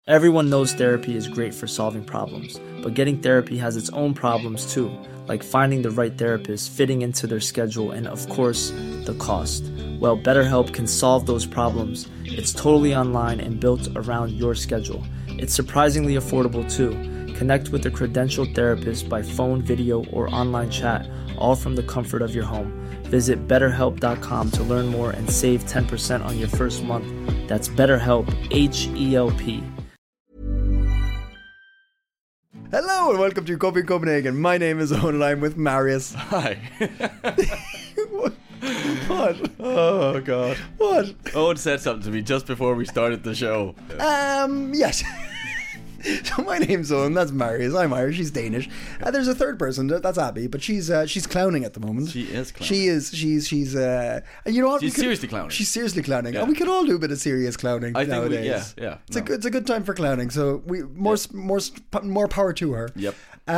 Everyone knows therapy is great for solving problems, but getting therapy has its own problems too, like finding the right therapist, fitting into their schedule, and of course, the cost. Well, BetterHelp can solve those problems. It's totally online and built around your schedule. It's surprisingly affordable too. Connect with a credentialed therapist by phone, video, or online chat, all from the comfort of your home. Visit BetterHelp.com to learn more and save 10% on your first month. That's BetterHelp, H-E-L-P. Hello and welcome to Coping Copenhagen. My name is Owen and I'm with Marius. Hi. What? Oh, God. What? Owen said something to me just before we started the show. Yes. So my name's Owen, that's Marius, I'm Irish, she's Danish. There's a third person, that's Abby, but she's clowning at the moment. She is clowning. She's and you know what? She's seriously clowning. She's seriously clowning. Yeah. And we could all do a bit of serious clowning nowadays. Yeah. It's a good time for clowning, so we more power to her. Yep.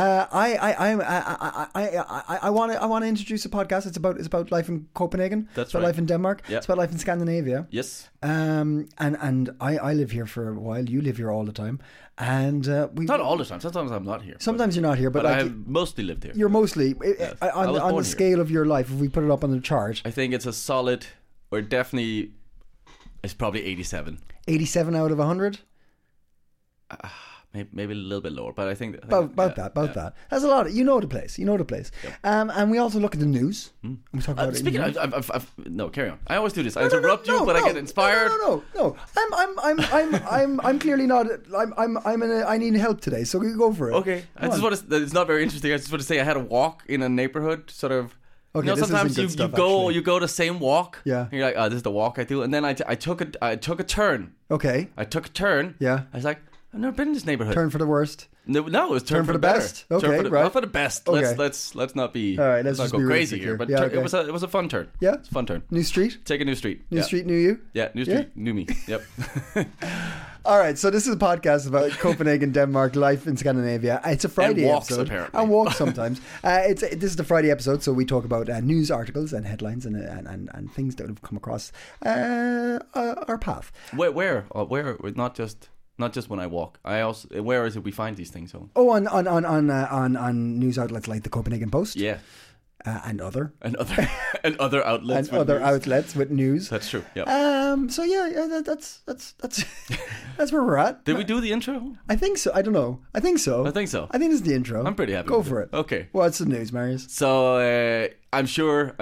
I want to introduce a podcast. It's about life in Copenhagen. That's about right. life in Denmark. Yep. It's about life in Scandinavia. Yes. And I live here for a while. You live here all the time, and we Not all the time. Sometimes I'm not here. Sometimes you're not here, but But like, I have mostly lived here. you're mostly Yes. I on was the born here. scale of your life. If we put it up on the chart, I think it's a solid, or definitely, it's probably 87. 87 out of 100. Maybe a little bit lower, but I think... About that. That's a lot. You know the place. Yep. And we also look at the news. And we talk about it. Speaking in the of... No, carry on. I always do this. I interrupt you, but I get inspired. No. I'm clearly not. I need help today, so we go for it. Okay. It's not very interesting. I just want to say I had a walk in a neighborhood, sort of... Okay, you know, this sometimes isn't good you stuff, go actually. you go the same walk. Yeah. And you're like, oh, this is the walk I do. And then I took a turn. Okay. I took a turn. Yeah. I was like, I've never been in this neighborhood. Turn for the worst. No, it was turn for the better. best? Okay, right. Not for the best. Okay. Let's not be. All right, let's not just go be crazy realistic here. But here. Yeah, okay. it was a fun turn. Yeah? It's a fun turn. New street. Take a new street. New street. New you. Yeah, new street. New me. Yep. All right, so this is a podcast about Copenhagen, Denmark, life in Scandinavia. It's a Friday And walks, episode. apparently. And walks sometimes. This is the Friday episode, so we talk about news articles and headlines and things that have come across our path. Where? Not just when I walk. Where is it we find these things? Oh, on news outlets like the Copenhagen Post. Yeah. And other outlets. and other outlets with news. That's true. Yeah. So that's that's where we're at. Did we do the intro? I think so. I don't know. I think so. I think so. I think this is the intro. I'm pretty happy. Go with for it. Okay. What's the news, Marius? So I'm sure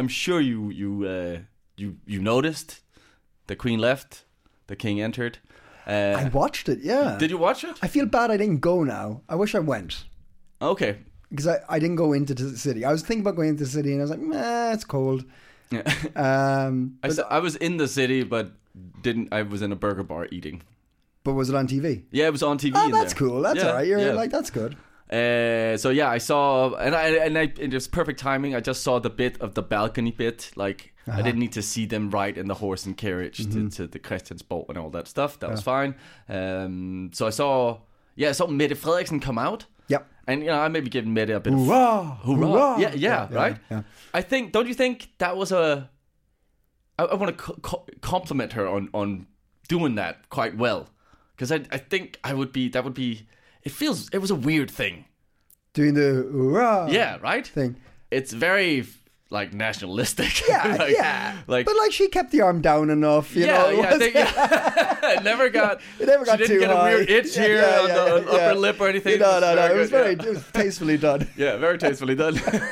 you noticed the Queen left, the King entered. I watched it. Yeah. Did you watch it? I feel bad I didn't go now. I wish I went. Okay. Because I didn't go into the city. I was thinking about going into the city and I was like, nah, it's cold. Yeah. I was in the city, but I was in a burger bar eating. But was it on TV? Yeah, it was on TV. Oh, that's cool. That's all right. You're like, that's good. So yeah, I saw, and it was perfect timing. I just saw the bit of the balcony bit. Like I didn't need to see them ride in the horse and carriage to the Christiansborg and all that stuff. That was fine. So I saw Mette Frederiksen come out. Yep. And I maybe give Mette a bit Hoorah! of hoorah. Yeah, right. Yeah. Don't you think that was I want to compliment her on doing that quite well, because I think that would be. It was a weird thing. Doing the hoorah right? thing. It's very like nationalistic. Yeah, Like, but like she kept the arm down enough, you know. I think it never got. It never got she too didn't get high. a weird itch here on the upper lip or anything. No. It was very very it was tastefully done. Yeah, very tastefully done.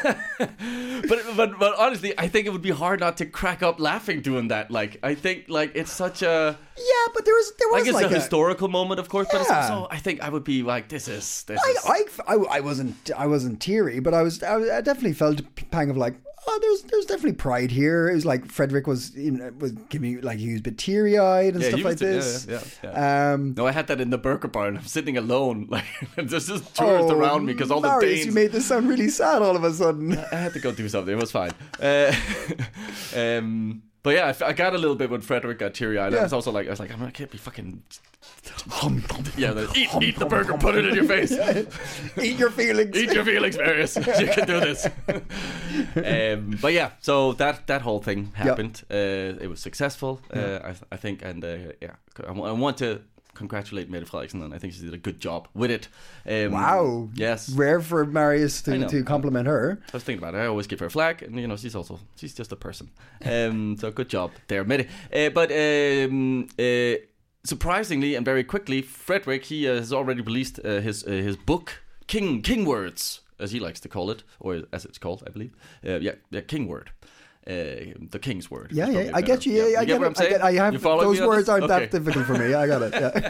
but honestly, I think it would be hard not to crack up laughing doing that. Like, I think like it's such a but there was like it's like a historical moment, of course. But it's Yeah. also, I think I would be like, this is. I wasn't teary, but I definitely felt a pang of like, oh, there's definitely pride here. It was like Frederick was giving, like, he was a bit teary eyed and stuff like this. Yeah. No, I had that in the burger bar, and I'm sitting alone, like there's just tourists around me because all the Marius, Danes. you made this sound really sad all of a sudden. I had to go do something. It was fine. But yeah, I got a little bit when Frederick got teary-eyed. Yeah. I was like, I can't be fucking. Eat the burger, put it in your face. Eat your feelings. Eat your feelings, Marius. You can do this. But yeah, so that whole thing happened. It was successful, I think, and I want to congratulate Mette Frederiksen, and I think she did a good job with it. Wow. Yes. Rare for Marius to compliment her. I was thinking about it. I always give her a flag, and she's just a person. So good job there, Mette. But surprisingly and very quickly, Frederick, he has already released his book, King Words, as he likes to call it, or as it's called, I believe. King Word. The King's Word. Yeah, I get you. Yeah, I get what I'm saying. I have those words aren't that difficult for me. I got it.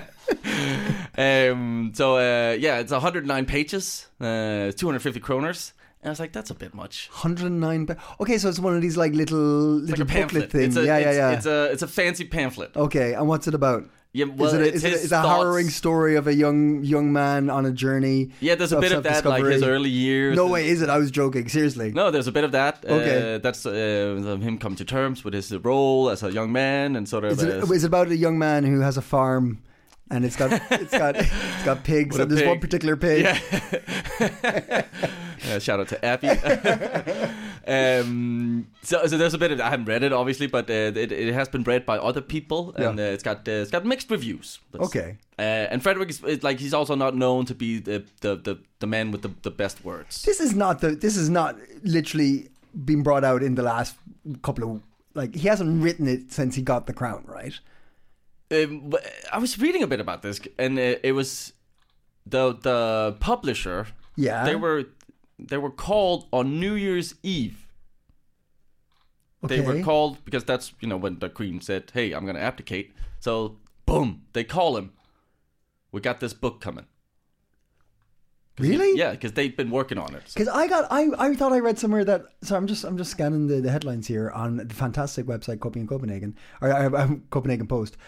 Yeah. It's 109 pages, 250 kroners. And I was like, that's a bit much. 109. Okay, so it's one of these like little like a booklet things. It's a fancy pamphlet. Okay, and what's it about? Yeah, well, is it a harrowing story of a young man on a journey? Yeah, there's a bit of that, like his early years. No way, is it? I was joking. Seriously. No, there's a bit of that. Okay. That's him coming to terms with his role as a young man and sort of. Is it about a young man who has a farm? And it's got pigs, and there's one particular pig. Yeah. Shout out to Abby. So there's a bit of, I haven't read it obviously, but it has been read by other people, and it's got mixed reviews. Okay. And Frederick is like, he's also not known to be the man with the best words. This is not literally been brought out in the last couple of, like, he hasn't written it since he got the crown, right? I was reading a bit about this, and it was the publisher. Yeah, they were called on New Year's Eve. Okay. They were called because that's when the Queen said, "Hey, I'm going to abdicate." So boom, they call him. We got this book coming. Really? Yeah, because they've been working on it. Because I thought I read somewhere that. So I'm just scanning the headlines here on the fantastic website Copenhagen or Copenhagen Post.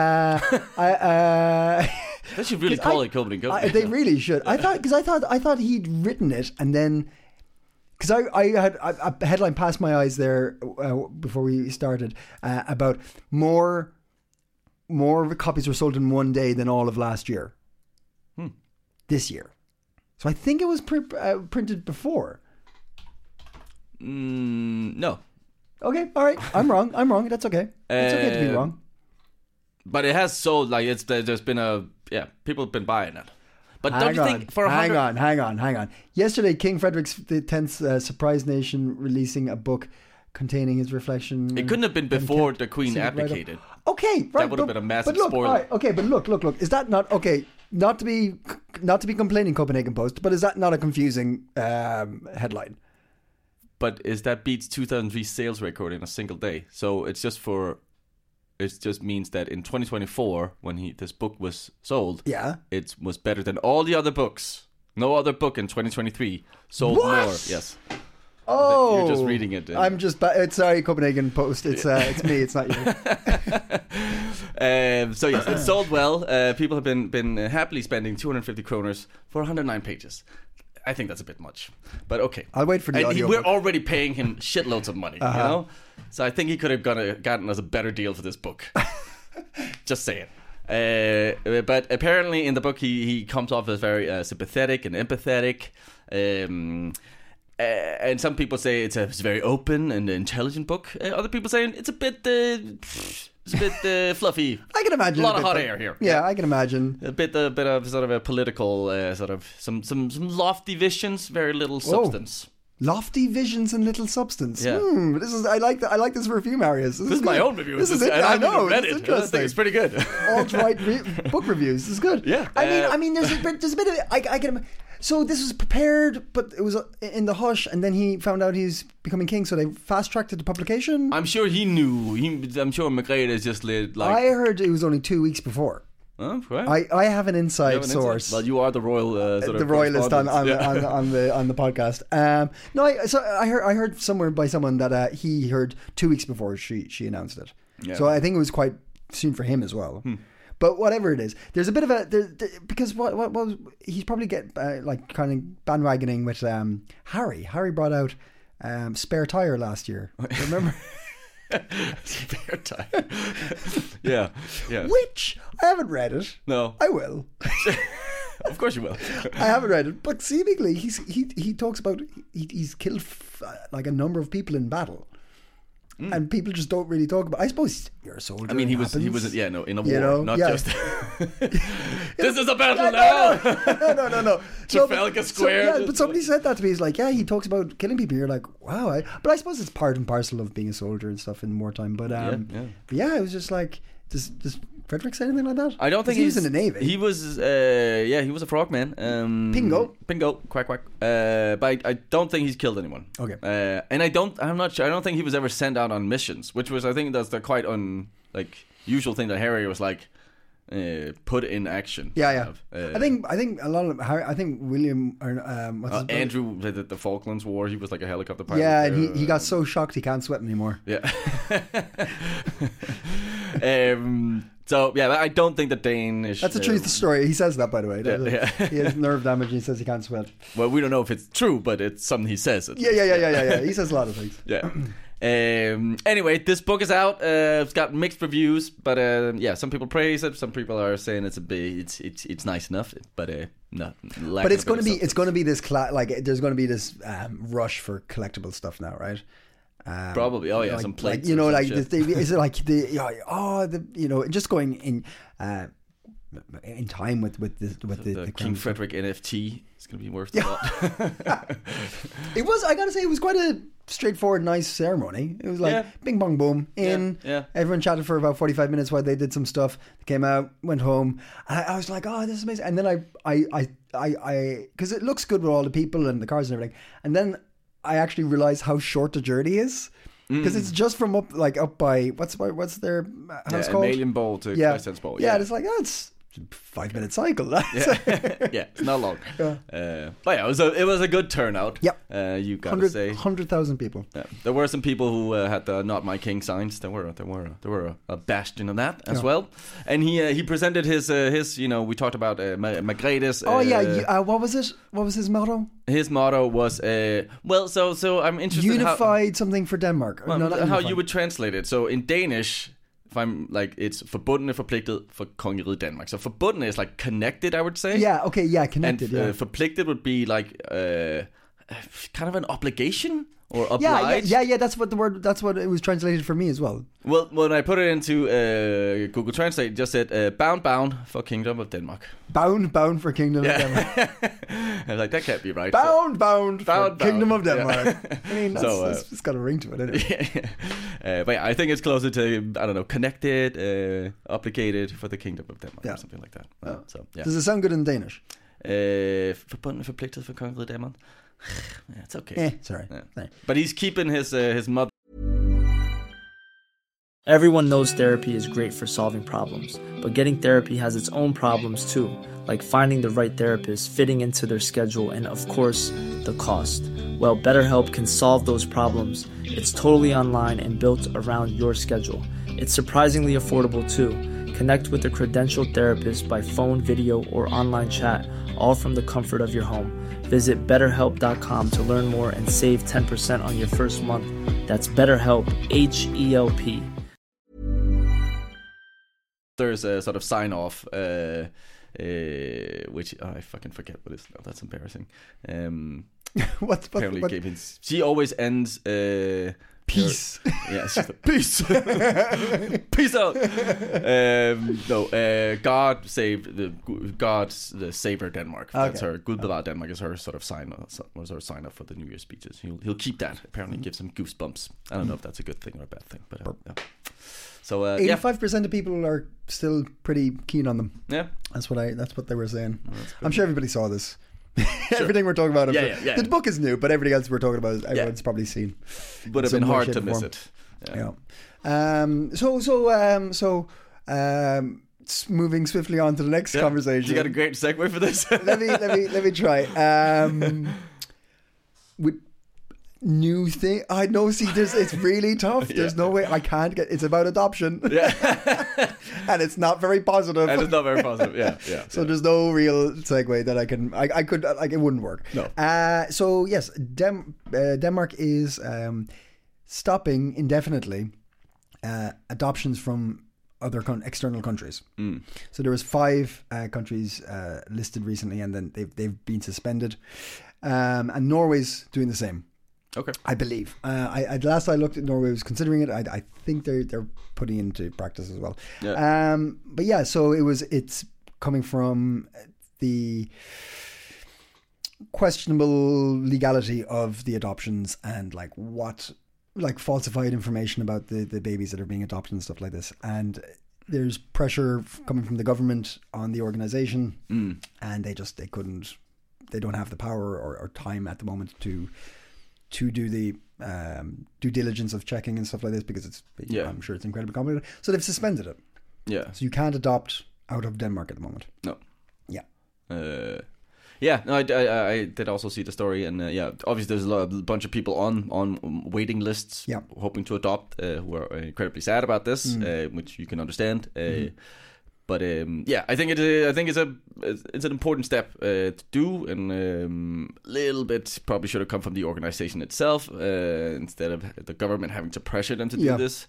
They should really call it Copenhagen. They really should. I thought he'd written it, and then because I had a headline pass my eyes there before we started about more copies were sold in one day than all of last year. This year. So I think it was printed before. No. Okay, all right. I'm wrong. That's okay. It's okay to be wrong. But it has sold, like, there's been people have been buying it. But don't you think for hang on. Yesterday, King Frederick X's surprised nation releasing a book containing his reflection. It couldn't have been before the Queen abdicated. Okay, right. That would have been a massive spoiler. Right, okay, but look. Is that not okay? Not to be complaining, Copenhagen Post, but is that not a confusing headline? But that beats 2003 sales record in a single day. So it just means that in 2024, when this book was sold, it was better than all the other books. No other book in 2023 sold more. Yes. Oh, you're just reading it. I'm just. Sorry, Copenhagen Post. It's me. It's not you. So yes, it sold well. People have been happily spending 250 kroners for 109 pages. I think that's a bit much, but okay. I'll wait for the audio. We're already paying him shitloads of money, So I think he could have gotten us a better deal for this book. Just saying. But apparently in the book he comes off as very sympathetic and empathetic. And some people say it's a very open and intelligent book. Other people saying it's a bit fluffy. I can imagine a lot of hot air here. Yeah, I can imagine a bit of sort of a political sort of some lofty visions, very little substance. Lofty visions and little substance. Yeah. I like this review, Marius. This is my own review. This is it. I know. Read it. I think it's pretty good. Alt-right book reviews. This is good. Yeah. I mean, there's a bit of it. I can. So this was prepared, but it was in the hush, and then he found out he's becoming king, so they fast-tracked it to publication. I'm sure he knew. I'm sure Margrethe is just like... I heard it was only 2 weeks before. Right. I have an inside source. Well, you are the royal the royalist on the podcast. I heard somewhere by someone that he heard 2 weeks before she announced it. Yeah. So I think it was quite soon for him as well. But whatever it is, there's a bit of because what he's probably kind of bandwagoning with Harry. Harry brought out Spare Tire last year. Remember? Spare Tire. Yeah. Which I haven't read it. No, I will. Of course you will. I haven't read it, but seemingly he talks about he's killed like a number of people in battle. and people just don't really talk about. I suppose you're a soldier. I mean, he was in a war, not just. This is a battle now. No. Trafalgar Square. But somebody said that to me. He's like, he talks about killing people. You're like, wow. But I suppose it's part and parcel of being a soldier and stuff in wartime. But it was just like, does Frederick say anything like that? I don't think he was in the Navy. He was, he was a frogman. Pingo, quack quack. But I don't think he's killed anyone. Okay. And I don't think he was ever sent out on missions, which was, I think that's the quite usual thing that Harry was like, put in action. Yeah. I think a lot of Harry. I think William or Andrew did the Falklands War. He was like a helicopter pilot. Yeah, and he got so shocked he can't sweat anymore. Yeah. So I don't think the Danish. That's a true story. He says that, by the way. He has nerve damage and he says he can't sweat. Well, we don't know if it's true, but it's something he says. Yeah. He says a lot of things. Yeah. Anyway, this book is out. It's got mixed reviews, but some people praise it. Some people are saying it's nice enough, but no. But it's going to be this there's going to be this rush for collectible stuff now, right? Probably. Some plates. Is it like just going in time with the King Frederick NFT is going to be worth a lot. It was. I gotta say, it was quite a straightforward, nice ceremony. It was like bing bong boom in. Yeah. Everyone chatted for about 45 minutes while they did some stuff. They came out, went home. I was like, oh, this is amazing. And then I because it looks good with all the people and the cars and everything. And then I actually realized how short the journey is. Because it's just from up by what's their house called? Amalienborg to Christiansborg. Yeah, it's like it's 5-minute cycle. It's not long. But it was a good turnout. Yep. You gotta say 100,000 people. Yeah. There were some people who had the "Not My King" signs. There were a bastion of that as well. And he presented his we talked about Margrethes. What was it? What was his motto? His motto was so I'm interested unified something for Denmark. How you would translate it. So in Danish, if I'm it's forbundne forpligtet for kongeriget Danmark. So forbundne is like connected, I would say. Yeah, okay, connected. And forpligtet would be like kind of an obligation or obliged. Yeah. That's what it was translated for me as well. Well, when I put it into Google Translate, it just said bound for Kingdom of Denmark. Bound for Kingdom of Denmark. I was like, that can't be right. Bound for Kingdom of Denmark. Yeah. I mean, it's got a ring to it, isn't it? But I think it's closer to, I don't know, connected, obligated for the Kingdom of Denmark or something like that. Does it sound good in Danish? Forbundne forpligtet for kongeriget Danmark. It's okay. Sorry. Yeah. But he's keeping his mother. Everyone knows therapy is great for solving problems, but getting therapy has its own problems too, like finding the right therapist, fitting into their schedule, and of course, the cost. Well, BetterHelp can solve those problems. It's totally online and built around your schedule. It's surprisingly affordable too. Connect with a credentialed therapist by phone, video, or online chat, all from the comfort of your home. Visit BetterHelp.com to learn more and save 10% on your first month. That's BetterHelp, H-E-L-P. There's a sort of sign-off, which I fucking forget what it is now. That's embarrassing. She always ends... Peace. Peace. Peace out. God's the saver Denmark. That's her. Gud bevar Denmark is her sort of sign. Was her sign up for the New Year speeches. He'll keep that. Apparently, gives him goosebumps. I don't know if that's a good thing or a bad thing, but yeah. So 85% of people are still pretty keen on them. Yeah, that's what they were saying. I'm sure everybody saw this. Everything we're talking about. The book is new, but everything else we're talking about, everyone's probably seen. Would have been hard to miss it. Moving swiftly on to the next conversation. You got a great segue for this. let me try. With new thing, I know. See, it's really tough. There's no way I can't get. It's about adoption. And it's not very positive. So there's no real segue that I can. I could it wouldn't work. No. So yes, Denmark is stopping indefinitely adoptions from other external countries. So there was 5 countries listed recently, and then they've been suspended. And Norway's doing the same. Okay. I believe. Last I looked, Norway was considering it. I think they're putting it into practice as well. Yeah. But yeah, so it's coming from the questionable legality of the adoptions and like falsified information about the babies that are being adopted and stuff like this. And there's pressure coming from the government on the organization, and they don't have the power or time at the moment to do the due diligence of checking and stuff like this, because I'm sure it's incredibly complicated. So they've suspended it. Yeah. So you can't adopt out of Denmark at the moment. No. Yeah. No, I did also see the story, and obviously there's a bunch of people on waiting lists, hoping to adopt, who are incredibly sad about this, which you can understand. But I think it's an important step to do, and a little bit probably should have come from the organization itself instead of the government having to pressure them to do this.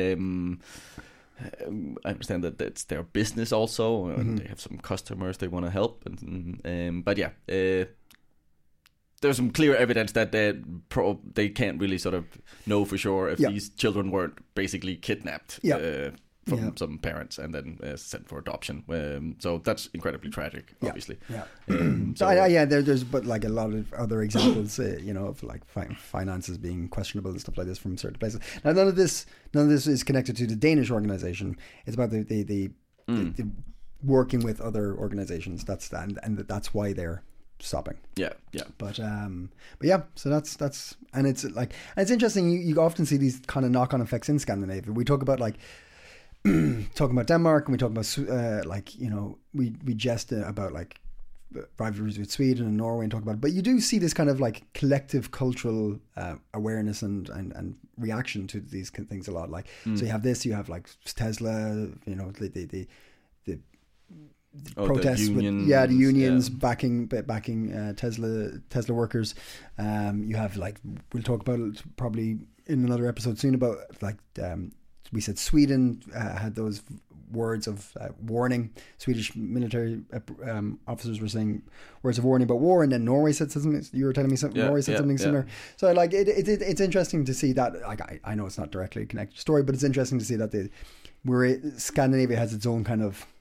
I understand that it's their business also, and they have some customers they want to help, but there's some clear evidence that they can't really sort of know for sure if these children weren't basically kidnapped from some parents and then sent for adoption. So that's incredibly tragic, obviously. There's but like a lot of other examples, of like finances being questionable and stuff like this from certain places. Now, none of this is connected to the Danish organization. It's about the working with other organizations. That's why they're stopping. But yeah, so that's and it's interesting. You often see these kind of knock-on effects in Scandinavia. We talk about like. Talking about Denmark, and we talk about we jest about like rivalries with Sweden and Norway and talk about it. But you do see this kind of like collective cultural awareness and reaction to these things a lot. Like so you have like Tesla, the protests the unions, with the unions backing Tesla workers. You have like, we'll talk about it probably in another episode soon about like we said Sweden had those words of warning. Swedish military officers were saying words of warning about war, and then Norway said something. You were telling me something. Norway said something similar. So like it's interesting to see that. Like I know it's not directly connected to the story, but it's interesting to see that Scandinavia has its own kind of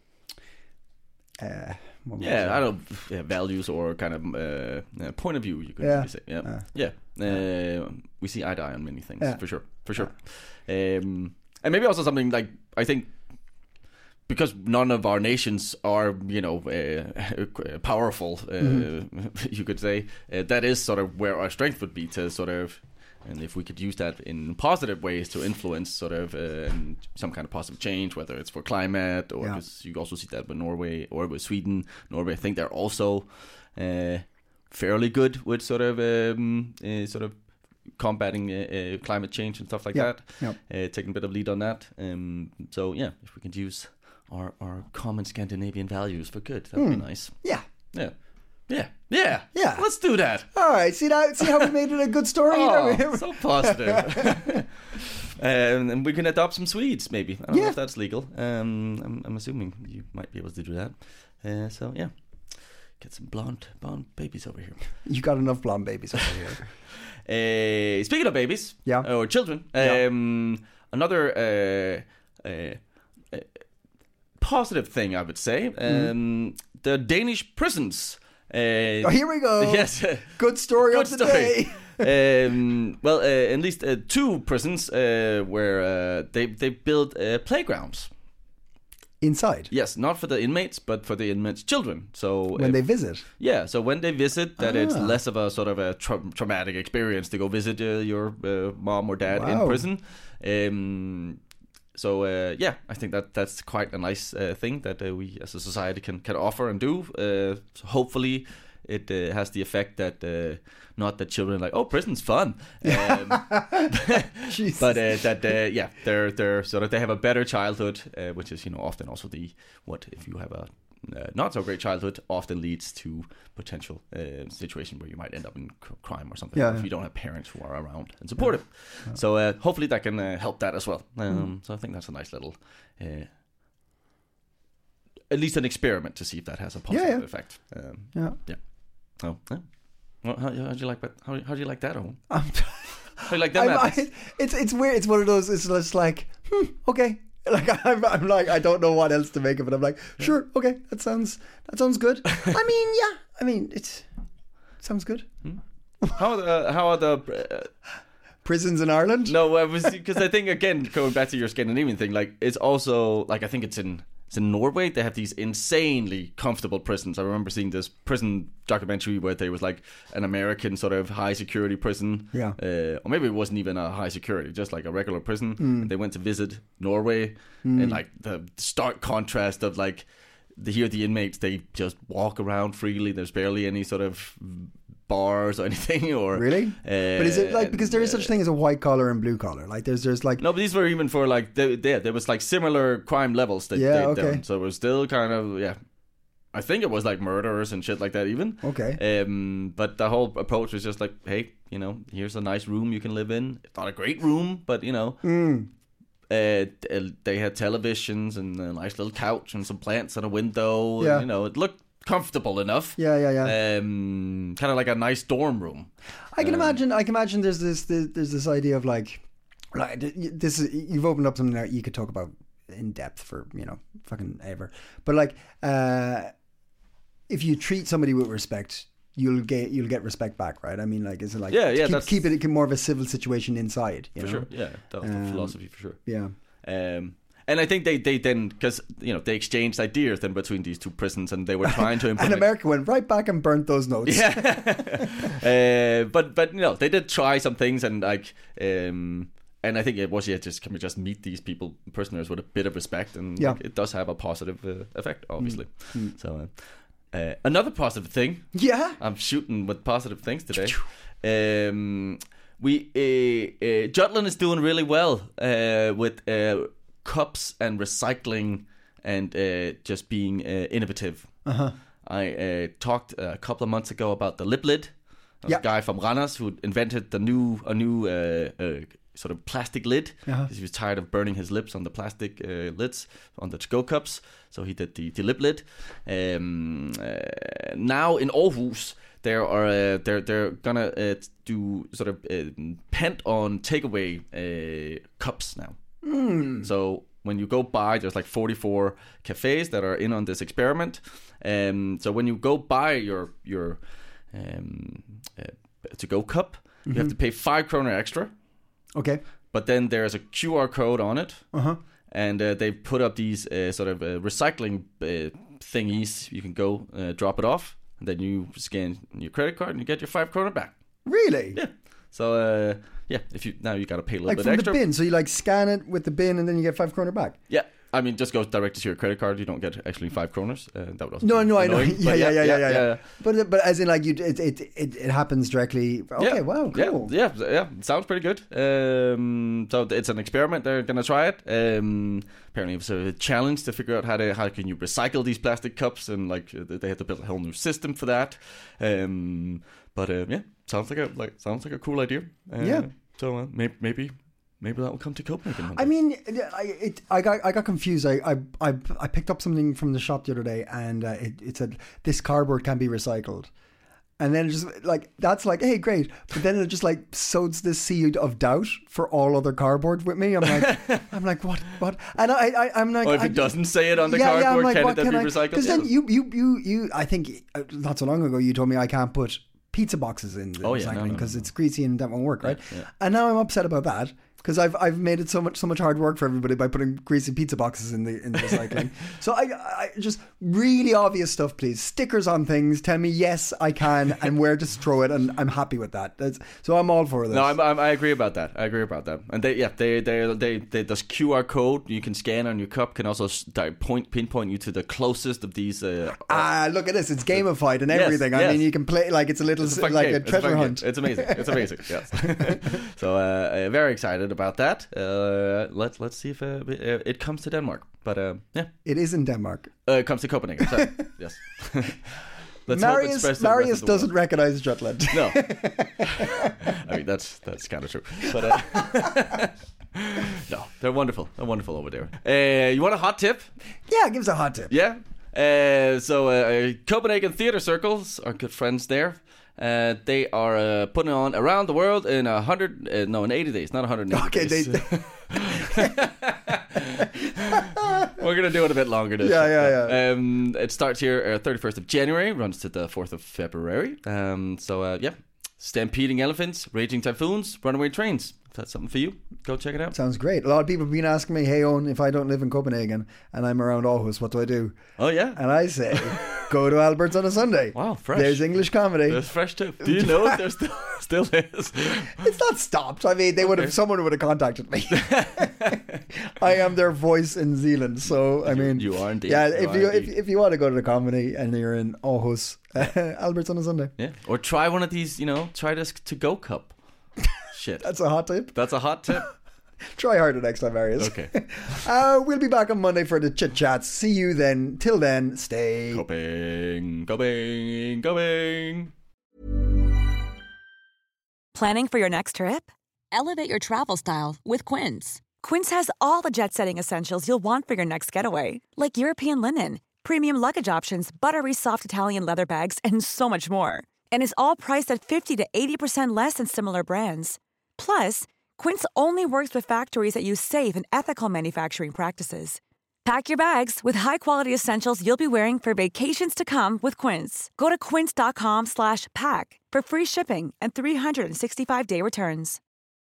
values or kind of point of view. You could really say, we see eye to eye on many things for sure. And maybe also something like, I think, because none of our nations are, powerful, you could say, that is sort of where our strength would be to sort of, and if we could use that in positive ways to influence sort of some kind of positive change, whether it's for climate or because you also see that with Norway or with Sweden. Norway, I think they're also fairly good with sort of combating climate change and stuff like that. Taking a bit of lead on that. So if we can use our common Scandinavian values for good, that would be nice. Yeah. Let's do that. All right. See how we made it a good story. So positive. And we can adopt some Swedes, maybe. I don't know if that's legal. I'm assuming you might be able to do that. So get some blonde babies over here. You got enough blonde babies over here. Speaking of babies, or children, another positive thing I would say, the Danish prisons. Here we go. Yes, good story of the day. At least two prisons where they built playgrounds. Inside? Yes, not for the inmates, but for the inmates' children. So when they visit? Yeah, so when they visit, that it's less of a sort of a traumatic experience to go visit your mom or dad in prison. I think that's quite a nice thing that we as a society can offer and do. So hopefully it has the effect that not that children are like, oh, prison's fun, but they're sort of, they have a better childhood, which is often also what if you have a not so great childhood often leads to potential situation where you might end up in crime or something if you don't have parents who are around and supportive. So hopefully that can help that as well. So I think that's a nice little at least an experiment to see if that has a positive effect. Well, how do you like that? How do you like that, Owen? Like them it's weird. It's one of those. It's just like, okay. Like I'm like I don't know what else to make of it. I'm like, sure, okay, that sounds good. I mean, it sounds good. How are the prisons in Ireland? No, because I think again going back to your Scandinavian thing, like it's also like I think it's in Norway. They have these insanely comfortable prisons. I remember seeing this prison documentary where there was like an American sort of high security prison, or maybe it wasn't even a high security, just like a regular prison. They went to visit Norway, and like the stark contrast of like here the inmates, they just walk around freely. There's barely any sort of bars or anything, or really? But is it like because there is such thing as a white collar and blue collar? Like there's like no, but these were even for like there was like similar crime levels that they'd done, so it was still kind of I think it was like murderers and shit like that even. Okay. But the whole approach was just like, hey, you know, here's a nice room you can live in. It's not a great room, but you know. They had televisions and a nice little couch and some plants and a window. Yeah. And, you know, it looked comfortable enough. Yeah. Kind of like a nice dorm room. I can imagine. There's this idea of like this. You've opened up something that you could talk about in depth for fucking ever. But like, if you treat somebody with respect, you'll get respect back, right? I mean, like, is it like keep it more of a civil situation inside? You know? Sure, yeah, that was the philosophy for sure. Yeah. And I think they then, because they exchanged ideas then between these two prisons, and they were trying to implement. And America went right back and burnt those notes. Yeah, but they did try some things, and like, and I think it was can we just meet these prisoners with a bit of respect, and like, it does have a positive effect, obviously. So. Another positive thing. Yeah, I'm shooting with positive things today. Jutland is doing really well with cups and recycling and just being innovative. I talked a couple of months ago about the lip lid. A guy from Randers who invented a new sort of plastic lid because he was tired of burning his lips on the plastic lids on the to-go cups. So he did the lip lid. Now in Aarhus, they're gonna do sort of pent-on takeaway cups now. So when you go by, there's like 44 cafes that are in on this experiment. So when you go buy your to-go cup, you have to pay 5 kroner extra. Okay. But then there's a QR code on it. And they put up these sort of recycling thingies. You can go drop it off, and then you scan your credit card and you get your 5 kroner back. Really? Yeah. So if you got to pay a little bit extra. Like from the bin. So you like scan it with the bin, and then you get 5 kroner back. Yeah. I mean, just goes directly to your credit card. You don't get actually 5 kroners. That would also no, I know. Yeah. But as in, like, it happens directly. Okay, wow, cool. Yeah. It sounds pretty good. So it's an experiment. They're gonna try it. Apparently, it was a challenge to figure out how can you recycle these plastic cups, and like they had to build a whole new system for that. Sounds like a cool idea. So maybe that will come to Copenhagen. I mean, I got confused. I picked up something from the shop the other day, and it said this cardboard can be recycled, and then it just like that's like, hey, great. But then it just like sows this seed of doubt for all other cardboard with me. I'm like, what? And I'm like, if it doesn't say it on the cardboard, like, can it then be recycled? Because then you, I think not so long ago you told me I can't put pizza boxes in the recycling because it's greasy and that won't work, right? Yeah. And now I'm upset about that. Because I've made it so much hard work for everybody by putting greasy pizza boxes in the recycling. So I just really obvious stuff, please. Stickers on things. Tell me yes I can and where to throw it, and I'm happy with that. So I'm all for this. No, I agree about that. And they this QR code you can scan on your cup can also pinpoint you to the closest of these. Look at this! It's gamified and everything. Yes. I mean, you can play like it's a little like game. A treasure hunt. It's amazing. Yes. So very excited about that. Let's see if it comes to Denmark. But it is in Denmark. It comes to Copenhagen. Sorry. Yes. Marius doesn't recognize Jutland. No. I mean that's kind of true. But no, they're wonderful. They're wonderful over there. You want a hot tip? Yeah, give us a hot tip. Yeah. Copenhagen Theatre Circles, our good friends there. They are putting on around the world in 80 days, not 180 days. We're going to do it a bit longer. Yeah. It starts here 31st of January, runs to the 4th of February. Stampeding elephants, raging typhoons, runaway trains. If that's something for you, go check it out. Sounds great. A lot of people have been asking me, hey, Owen, if I don't live in Copenhagen and I'm around Aarhus, what do I do? Oh, yeah. And I say, go to Albert's on a Sunday. Wow, fresh. There's English comedy. There's fresh too. Do you know if there still is? It's not stopped. I mean, someone would have contacted me. I am their voice in Zealand. So, I mean. You are indeed. Yeah, if you want to go to the comedy and you're in Aarhus, Albert's on a Sunday. Yeah. Or try one of these, try this to-go cup. Shit. That's a hot tip. Try harder next time, Marius. Okay. We'll be back on Monday for the chit chats. See you then. Till then, stay. Going. Planning for your next trip? Elevate your travel style with Quince. Quince has all the jet-setting essentials you'll want for your next getaway, like European linen, premium luggage options, buttery soft Italian leather bags, and so much more. And is all priced at 50 to 80% less than similar brands. Plus, Quince only works with factories that use safe and ethical manufacturing practices. Pack your bags with high-quality essentials you'll be wearing for vacations to come with Quince. Go to quince.com/pack for free shipping and 365-day returns.